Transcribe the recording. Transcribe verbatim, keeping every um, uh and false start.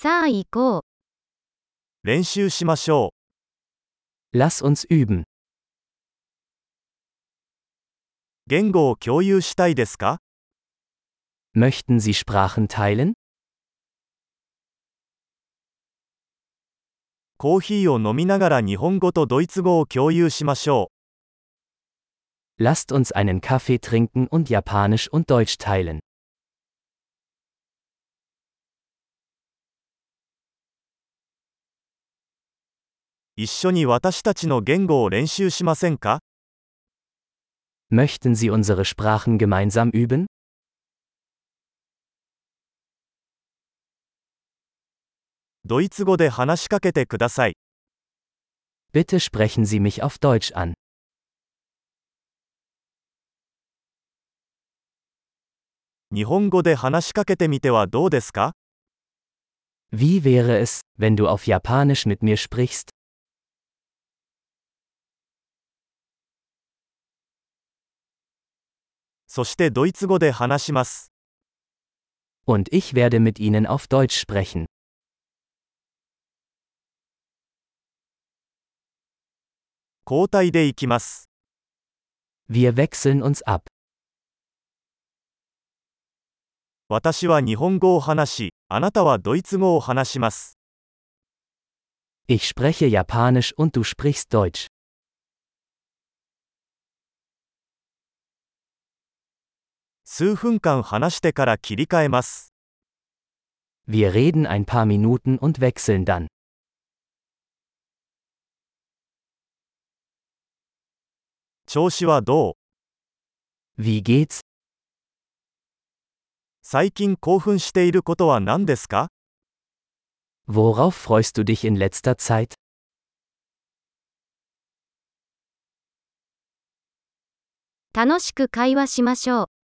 さあ行こう。 練習しましょ Lass uns üben. う。言語を共有したいですか？ Möchten Sie Sprachen teilen? コーヒーを飲みながら日本語とドイツ語を共有しましょ Lasst uns einen Kaffee trinken und Japanisch und Deutsch teilen. う。一緒に私たちの言語を練習しませんか？ Möchten Sie unsere Sprachen gemeinsam üben? ドイツ語で話しかけてください。 Bitte sprechen Sie mich auf Deutsch an. 日本語で話しかけてみてはどうですか？ Wie wäre es, wenn du auf Japanisch mit mir sprichst? そしてドイツ語で話します。 Und ich werde mit Ihnen auf Deutsch sprechen. 交代でいきます。 Wir wechseln uns ab. 私は日本語を話し、あなたはドイツ語を話します。 Ich spreche Japanisch und du sprichst Deutsch. 数分間話してから切り替えます。 Wir reden ein paar Minuten und wechseln dann. 調子はどう？ Wie geht's? 最近興奮していることは何ですか？ Worauf freust du dich in letzter Zeit? 楽しく会話しましょう。